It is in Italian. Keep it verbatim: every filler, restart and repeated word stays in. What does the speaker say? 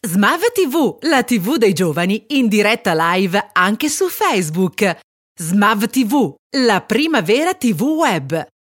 Smav ti vu, la tivù dei giovani, in diretta live anche su Facebook. Smav ti vu, la prima vera tivù web.